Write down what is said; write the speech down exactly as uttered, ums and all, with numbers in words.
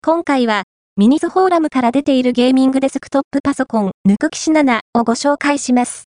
今回は、ミニズフォーラムから出ているゲーミングデスクトップパソコン、ヌクキシななをご紹介します。